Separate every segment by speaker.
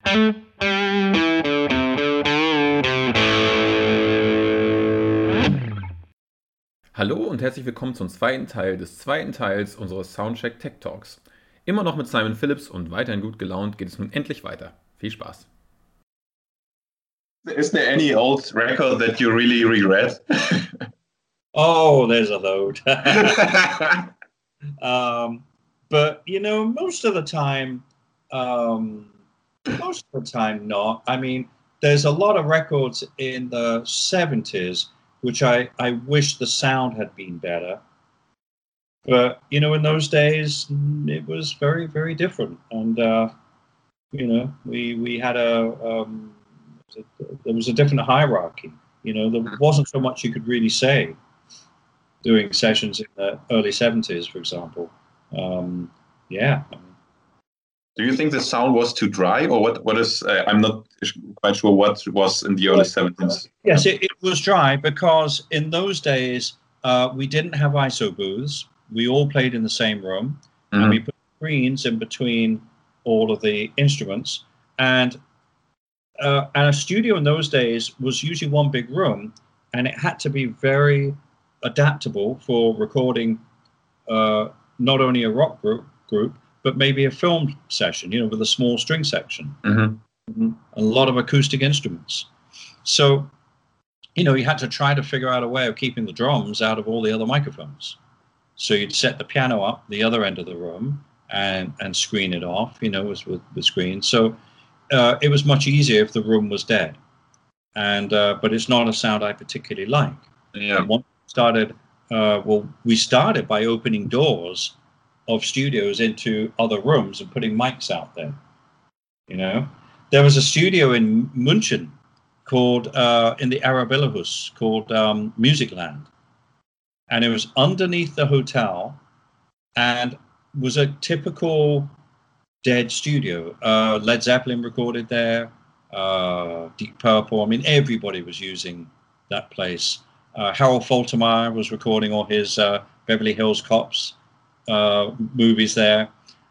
Speaker 1: Hallo und herzlich willkommen zum zweiten Teil des zweiten Teils unseres Soundcheck Tech Talks. Immer noch mit Simon Phillips und weiterhin gut gelaunt geht es nun endlich weiter. Viel Spaß.
Speaker 2: Is there any old record that you really regret?
Speaker 3: Oh, there's a load. But you know, most of the time not. I mean, there's a lot of records in the 70s which I wish the sound had been better. But you know, in those days it was very, very different. And you know, we had there was a different hierarchy. You know, there wasn't so much you could really say doing sessions in the early 70s, for example. Yeah.
Speaker 2: Do you think the sound was too dry, or what is? I'm not quite sure what was in the early 70s.
Speaker 3: Yes, it was dry because in those days we didn't have ISO booths. We all played in the same room, and we put screens in between all of the instruments. And a studio in those days was usually one big room, and it had to be very adaptable for recording not only a rock group, but maybe a film session, you know, with a small string section, a lot of acoustic instruments. So, you know, you had to try to figure out a way of keeping the drums out of all the other microphones. So you'd set the piano up the other end of the room and screen it off, you know, with screens. So it was much easier if the room was dead. And but it's not a sound I particularly like.
Speaker 2: Yeah.
Speaker 3: Once we started by opening doors of studios into other rooms and putting mics out there. You know, there was a studio in München called in the Arabellahus called Musicland, and it was underneath the hotel and was a typical Dead studio. Led Zeppelin recorded there, Deep Purple. I mean, everybody was using that place. Harold Faltermeyer was recording all his Beverly Hills Cops movies there.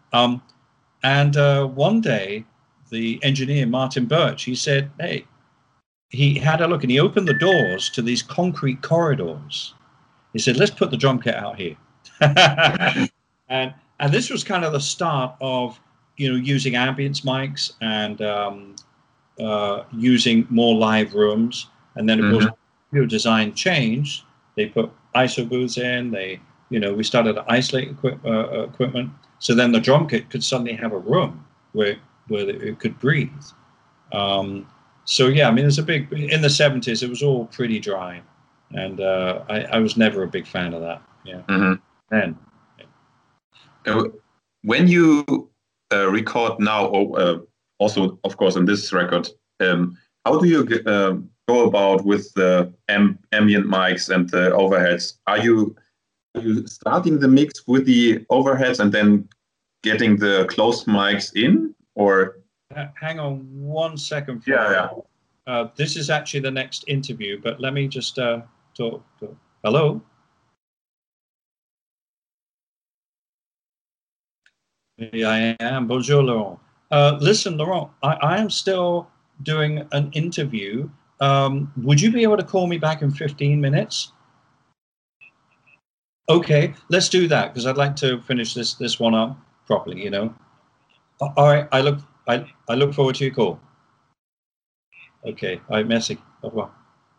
Speaker 3: And one day, the engineer, Martin Birch, he said, hey, he had a look and he opened the doors to these concrete corridors. He said, let's put the drum kit out here. and this was kind of the start of, you know, using ambience mics and using more live rooms. And then, of course, your design changed. They put ISO booths in. We started to isolate equipment. So then the drum kit could suddenly have a room where it could breathe. So yeah, I mean, there's in the 70s, it was all pretty dry, and I was never a big fan of that. Yeah. And
Speaker 2: when you record now, also of course on this record, how do you go about with the ambient mics and the overheads? Are you starting the mix with the overheads and then getting the closed mics in, or?
Speaker 3: Hang on 1 second.
Speaker 2: Yeah.
Speaker 3: This is actually the next interview, but let me just talk. Hello? Yeah, I am. Bonjour, Laurent. Listen, Laurent, I am still doing an interview. Would you be able to call me back in 15 minutes? Okay, let's do that, because I'd like to finish this one up properly, you know. All right, I look forward to your call. Okay, all right, merci. Au revoir.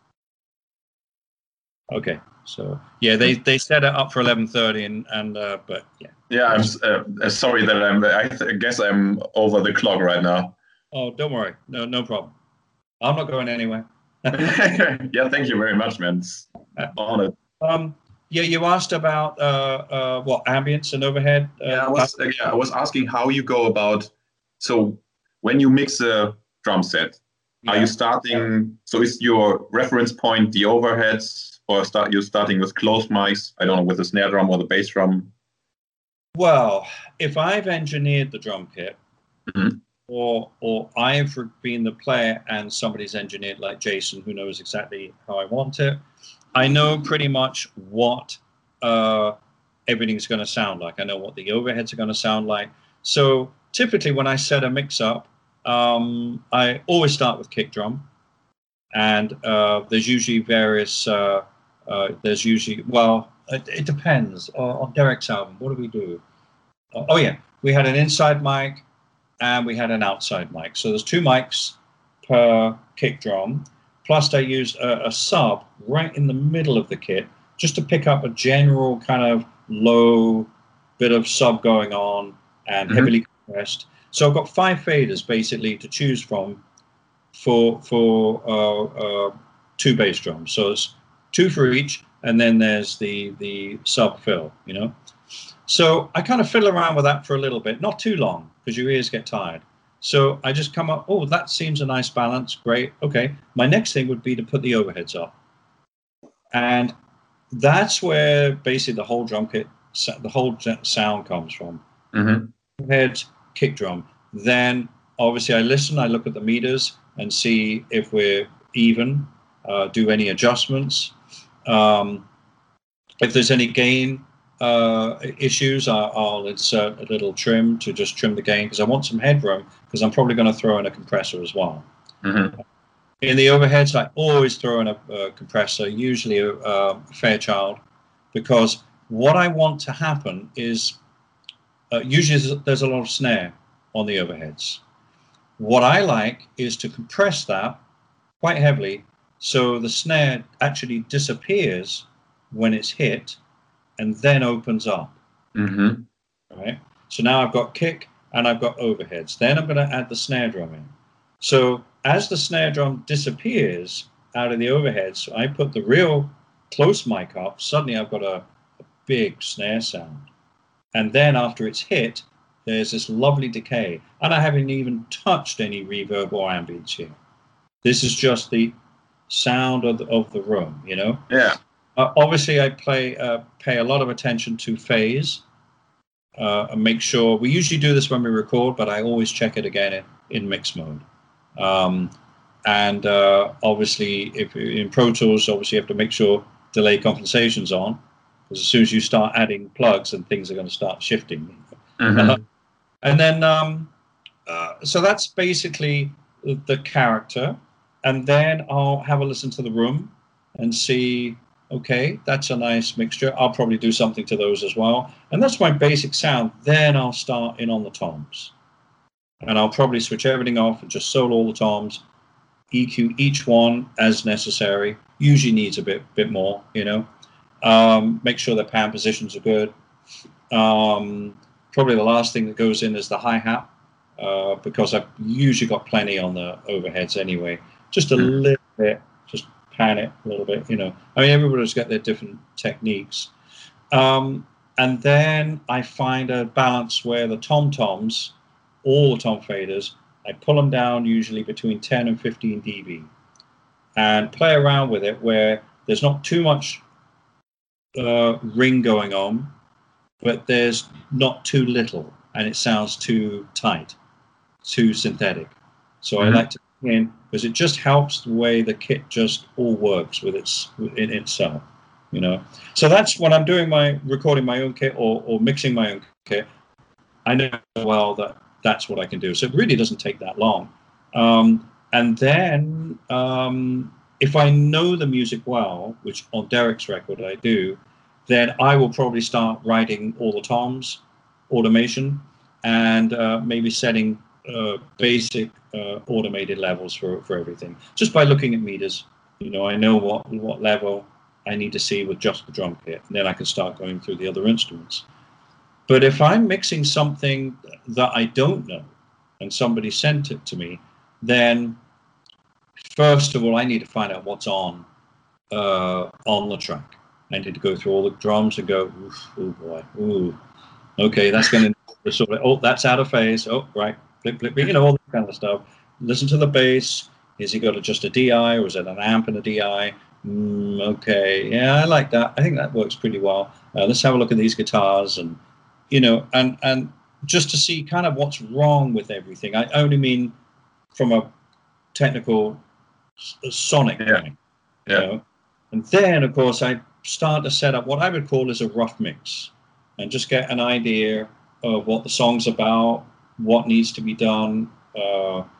Speaker 3: Okay, so yeah, they set it up for 11:30, and but yeah.
Speaker 2: Yeah, I'm sorry that I guess I'm over the clock right now.
Speaker 3: Oh, don't worry, no problem. I'm not going anywhere.
Speaker 2: Yeah, thank you very much, man. It's honored.
Speaker 3: Yeah, you asked about what ambience and overhead.
Speaker 2: I was asking how you go about. So when you mix a drum set, are you starting? So is your reference point the overheads, or you starting with closed mics? I don't know, with the snare drum or the bass drum.
Speaker 3: Well, if I've engineered the drum kit, or I've been the player and somebody's engineered, like Jason, who knows exactly how I want it, I know pretty much what everything's going to sound like. I know what the overheads are going to sound like. So typically when I set a mix up, I always start with kick drum, and there's usually various. There's usually it depends on Derek's album. What do we do? Oh yeah, we had an inside mic and we had an outside mic. So there's 2 mics per kick drum. Plus, I used a sub right in the middle of the kit just to pick up a general kind of low bit of sub going on and heavily compressed. So I've got 5 faders basically to choose from for 2 bass drums. So it's 2 for each, and then there's the sub fill, you know. So I kind of fiddle around with that for a little bit, not too long, because your ears get tired. So I just come up, oh, that seems a nice balance, great, okay. My next thing would be to put the overheads up. And that's where basically the whole drum kit, the whole sound comes from. Overheads, kick drum. Then obviously I listen, I look at the meters and see if we're even, do any adjustments. If there's any gain issues, I'll insert a little trim to just trim the gain, because I want some headroom, because I'm probably going to throw in a compressor as well. In the overheads, I always throw in a compressor, usually a Fairchild, because what I want to happen is usually there's a lot of snare on the overheads. What I like is to compress that quite heavily, so the snare actually disappears when it's hit and then opens up. Right? So now I've got kick and I've got overheads. Then I'm going to add the snare drum in. So as the snare drum disappears out of the overheads, I put the real close mic up. Suddenly I've got a big snare sound. And then after it's hit, there's this lovely decay. And I haven't even touched any reverb or ambience here. This is just the sound of the room, you know?
Speaker 2: Yeah.
Speaker 3: Obviously, I pay a lot of attention to phase and make sure. We usually do this when we record, but I always check it again in mix mode. Obviously, if in Pro Tools, obviously you have to make sure delay compensation's on, because as soon as you start adding plugs, and things are going to start shifting. And then, so that's basically the character. And then I'll have a listen to the room and see, okay, that's a nice mixture. I'll probably do something to those as well. And that's my basic sound. Then I'll start in on the toms. And I'll probably switch everything off and just solo all the toms, EQ each one as necessary. Usually needs a bit more, you know. Make sure the pan positions are good. Probably the last thing that goes in is the hi-hat, because I've usually got plenty on the overheads anyway. Just a little bit, just pan it a little bit, you know. I mean, everybody's got their different techniques. And then I find a balance where the tom-toms, all the tom faders, I pull them down usually between 10 and 15 dB and play around with it where there's not too much ring going on, but there's not too little and it sounds too tight, too synthetic. So I like to bring in, because it just helps the way the kit just all works with in itself, you know. So that's when I'm doing recording my own kit or mixing my own kit, I know well that's what I can do. So it really doesn't take that long. And then if I know the music well, which on Derek's record I do, then I will probably start writing all the toms, automation, and maybe setting basic automated levels for everything. Just by looking at meters, you know, I know what level I need to see with just the drum kit, and then I can start going through the other instruments. But if I'm mixing something that I don't know and somebody sent it to me, then first of all, I need to find out what's on the track. I need to go through all the drums and go, oh boy, ooh, okay, that's going to sort of, oh, that's out of phase. Oh, right, blip, blip, you know, all that kind of stuff. Listen to the bass. Is he got just a DI, or is it an amp and a DI? Okay, yeah, I like that. I think that works pretty well. Let's have a look at these guitars, and you know, and just to see kind of what's wrong with everything. I only mean from a technical sonic point, you know? And then of course I start to set up what I would call as a rough mix, and just get an idea of what the song's about, what needs to be done,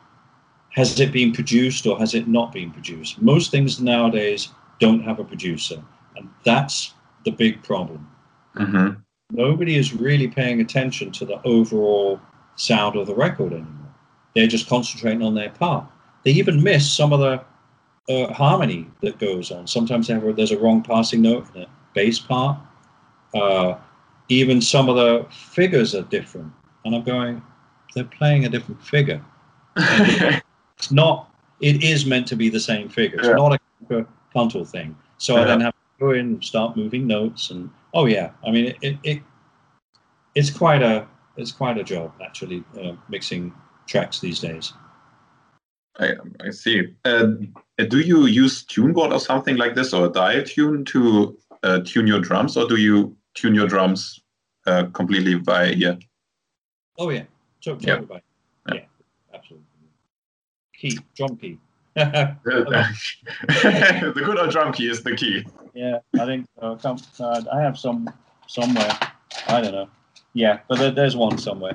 Speaker 3: has it been produced or has it not been produced? Most things nowadays don't have a producer, and that's the big problem.
Speaker 2: Mm-hmm.
Speaker 3: Nobody is really paying attention to the overall sound of the record anymore. They're just concentrating on their part. They even miss some of the harmony that goes on. Sometimes there's a wrong passing note in a bass part. Even some of the figures are different. And I'm going, they're playing a different figure. It's not, it is meant to be the same figure. It's not a contrapuntal thing. So I then have to go in and start moving notes. And oh yeah, I mean, it's quite a job actually, mixing tracks these days.
Speaker 2: I see. Do you use TuneBoard or something like this, or a dial tune to tune your drums, or do you tune your drums completely by ear?
Speaker 3: Oh yeah, totally by ear. Yeah, absolutely. Key, drum key.
Speaker 2: The good old drum key is the key.
Speaker 3: Yeah, I think I have some somewhere. I don't know. Yeah, but there's one somewhere.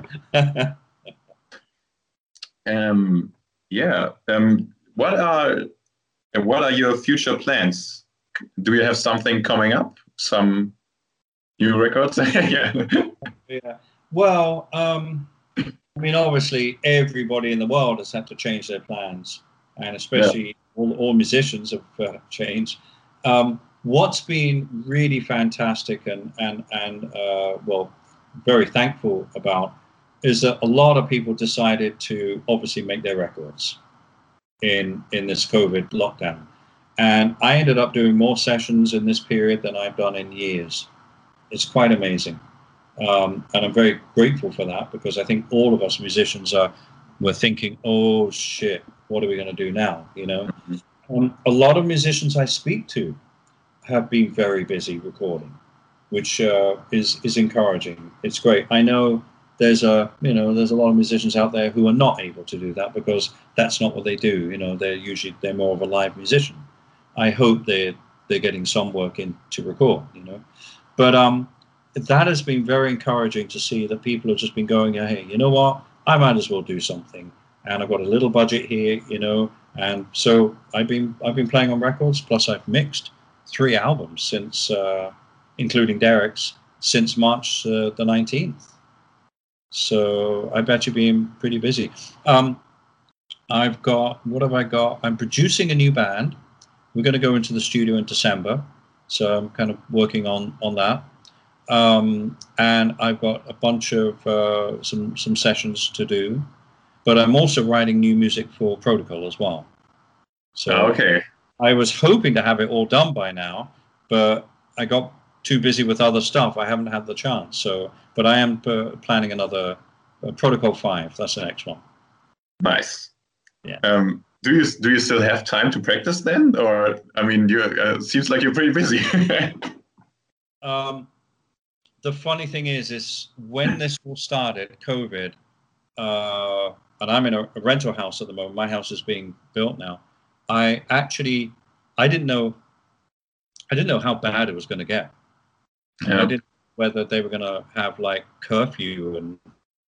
Speaker 2: What are your future plans? Do you have something coming up? Some new records?
Speaker 3: Yeah. Well, I mean, obviously, everybody in the world has had to change their plans, and especially all musicians have changed. What's been really fantastic and well, very thankful about is that a lot of people decided to obviously make their records in this COVID lockdown. And I ended up doing more sessions in this period than I've done in years. It's quite amazing. And I'm very grateful for that, because I think all of us musicians were thinking, oh shit, what are we going to do now? You know, a lot of musicians I speak to have been very busy recording, which is encouraging. It's great. I know there's a lot of musicians out there who are not able to do that because that's not what they do. You know, they're more of a live musician. I hope they're getting some work in to record. You know, but that has been very encouraging to see that people have just been going, hey, you know what? I might as well do something, and I've got a little budget here, you know, and so I've been playing on records. Plus, I've mixed 3 albums since, including Derek's, since March the 19th. So I bet you're being pretty busy. I've got, what have I got? I'm producing a new band. We're going to go into the studio in December, so I'm kind of working on that. And I've got a bunch of some sessions to do, but I'm also writing new music for Protocol as well. So
Speaker 2: okay.
Speaker 3: I was hoping to have it all done by now, but I got too busy with other stuff. I haven't had the chance. So, but I am planning another Protocol 5. That's the next one.
Speaker 2: Nice.
Speaker 3: Yeah.
Speaker 2: Do you still have time to practice then, or I mean, you seems like you're pretty busy.
Speaker 3: The funny thing is when this all started, COVID, and I'm in a rental house at the moment. My house is being built now. I didn't know how bad it was going to get.
Speaker 2: Yeah.
Speaker 3: I didn't know whether they were going to have like curfew and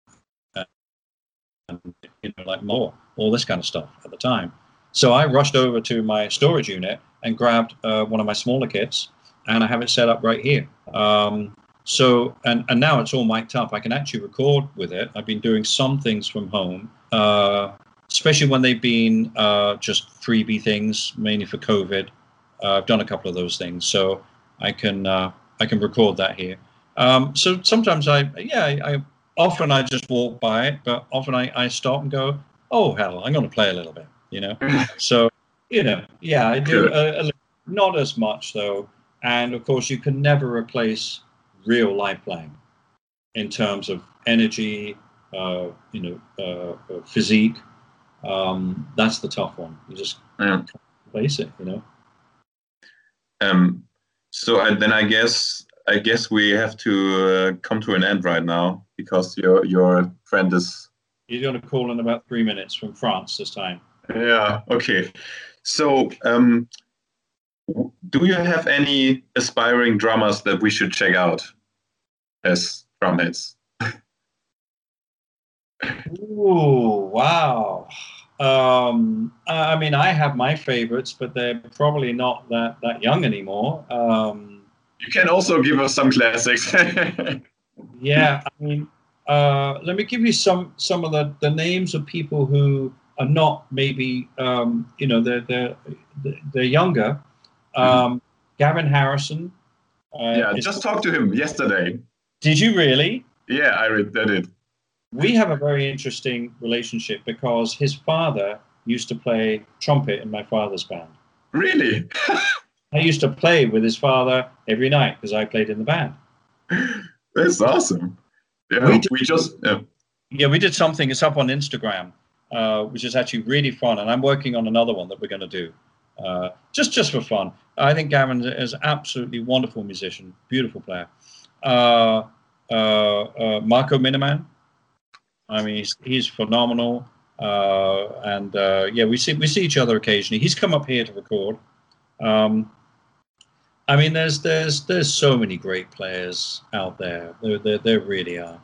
Speaker 3: you know, like more, all this kind of stuff at the time. So I rushed over to my storage unit and grabbed one of my smaller kits, and I have it set up right here. So and now it's all mic'd up. I can actually record with it. I've been doing some things from home, especially when they've been just freebie things, mainly for COVID. I've done a couple of those things, so I can record that here. So sometimes I often I just walk by it, but often I stop and go, oh hell, I'm going to play a little bit, you know. So you know, yeah, I do not as much though, and of course you can never replace real live playing in terms of energy, physique. That's the tough one. You just can't replace it, you know.
Speaker 2: So then I guess we have to come to an end right now, because your friend is.
Speaker 3: He's going to call in about 3 minutes from France this time.
Speaker 2: Yeah. Okay. So, do you have any aspiring drummers that we should check out as drumheads?
Speaker 3: Ooh, wow. I mean, I have my favorites, but they're probably not that young anymore.
Speaker 2: You can also give us some classics.
Speaker 3: Yeah, I mean, let me give you some of the names of people who are not maybe they're younger. Gavin Harrison.
Speaker 2: Yeah, just talked to him yesterday.
Speaker 3: Did you really?
Speaker 2: Yeah, I did.
Speaker 3: We have a very interesting relationship because his father used to play trumpet in my father's band.
Speaker 2: Really?
Speaker 3: I used to play with his father every night because I played in the band.
Speaker 2: That's awesome. Yeah,
Speaker 3: we did something. It's up on Instagram, which is actually really fun. And I'm working on another one that we're going to do, just for fun. I think Gavin is an absolutely wonderful musician, beautiful player. Marco Miniman. I mean, he's phenomenal. We see each other occasionally. He's come up here to record. I mean, there's so many great players out there. There really are.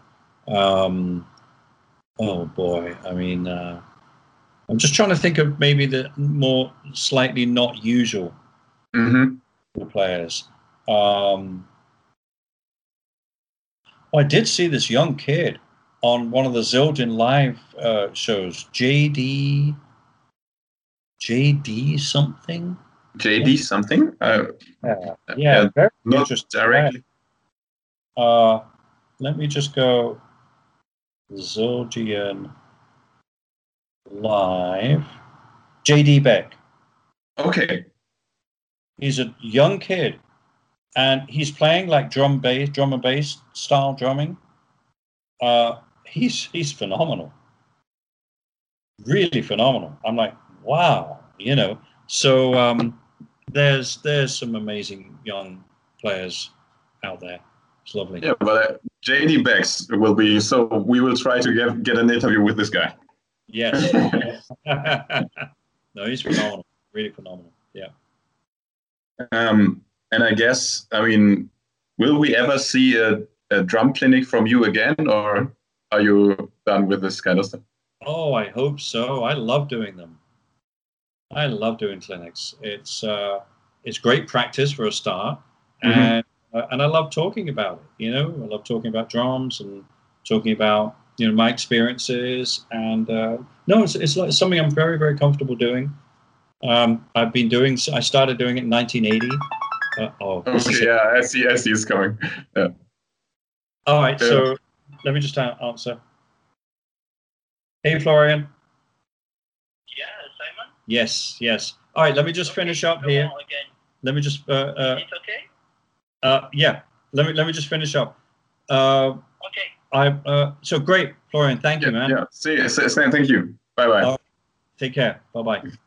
Speaker 3: Oh boy, I mean, I'm just trying to think of maybe the more slightly not usual players. I did see this young kid on one of the Zildjian live shows. JD something.
Speaker 2: JD something?
Speaker 3: Yeah, very
Speaker 2: not
Speaker 3: interesting.
Speaker 2: Directly.
Speaker 3: Let me just go Zildjian live. JD Beck.
Speaker 2: Okay.
Speaker 3: He's a young kid, and he's playing like drum and bass style drumming. He's phenomenal. Really phenomenal. I'm like, wow, So there's some amazing young players out there. It's lovely.
Speaker 2: Yeah, but JD Becks will be, so we will try to get an interview with this guy.
Speaker 3: Yes. No, he's phenomenal. Really phenomenal. Yeah.
Speaker 2: And I guess, I mean, will we ever see a drum clinic from you again, or are you done with this kind of stuff?
Speaker 3: Oh, I hope so. I love doing them. I love doing clinics. It's great practice for a start, and I love talking about it. I love talking about drums and talking about my experiences. And it's like something I'm very, very comfortable doing. I started doing it in 1980.
Speaker 2: Okay, yeah, I see it's coming. Yeah.
Speaker 3: All right, so let me just answer. Hey, Florian.
Speaker 4: Yeah, Simon?
Speaker 3: Yes. All right, let me just finish up here. Let me just...
Speaker 4: it's okay?
Speaker 3: Yeah, let me just finish up.
Speaker 4: Okay.
Speaker 3: So great, Florian, thank you, man.
Speaker 2: Yeah, see, thank you. Bye-bye.
Speaker 3: Take care. Bye-bye.